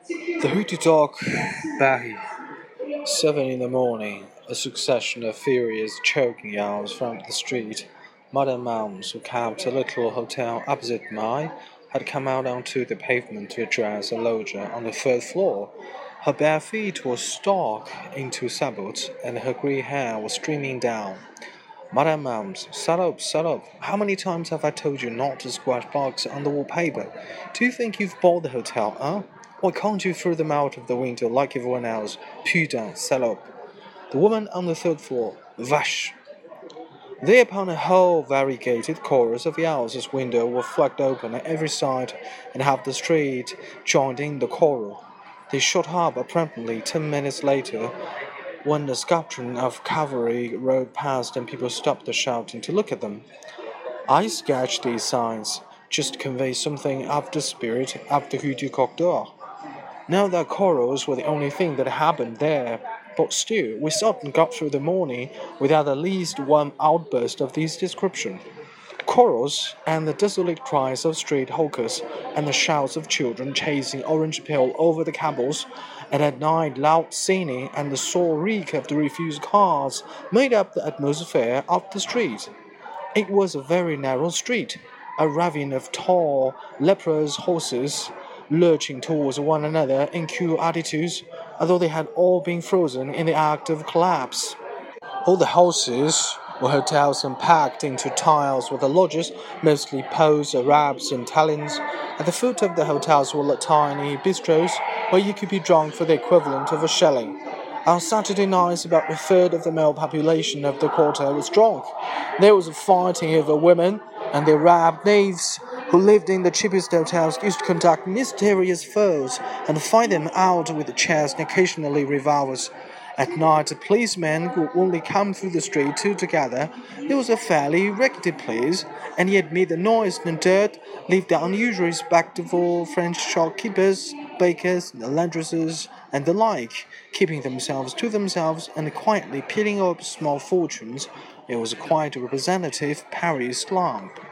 The hooty dog Bahi. 7 in the morning. A succession of furious choking yells from the street. Madame Moms, who kept a little hotel opposite mine, had come out onto the pavement to address a lodger on the third floor. Her bare feet were stuck into sabots, and her grey hair was streaming down. Madame Moms, shut up, shut up. How many times have I told you not to squash bugs on the wallpaper? Do you think you've bought the hotel, huh? Why can't you throw them out of the window like everyone else? Putain, shut up. The woman on the third floor, vash. Thereupon a whole variegated chorus of yells as windows were flung open on every side, and half the street joined in the choral. They shut up abruptly 10 minutes later, when the squadron of cavalry rode past and people stopped the shouting to look at them. I sketched these signs just to convey something of the spirit of the Rue du Coq d'Or. Now that chorals were the only thing that happened there, but still, we seldom got through the morning without at least one outburst of this description. Chorals and the desolate cries of street hawkers and the shouts of children chasing orange peel over the cobbles, and at night loud singing and the sore reek of the refused cars made up the atmosphere of the street. It was a very narrow street, a ravine of tall, leprous horses lurching towards one another in queue attitudes, although they had all been frozen in the act of collapse. All the houses were hotels and packed into tiles with the lodgers, mostly Poles, Arabs, and Italians. At the foot of the hotels were tiny bistros where you could be drunk for the equivalent of a shilling. On Saturday nights, about a third of the male population of the quarter was drunk. There was fighting over women, and the Arab knaves who lived in the cheapest hotels used to conduct mysterious foes and fight them out with chairs and occasionally revolvers. At night, the policemen would only come through the street two together. It was a fairly rickety place, and yet made the noise and dirt leave the unusually respectable French shopkeepers, bakers, laundresses, and the like, keeping themselves to themselves and quietly peeling up small fortunes. It was quite a representative Paris slum.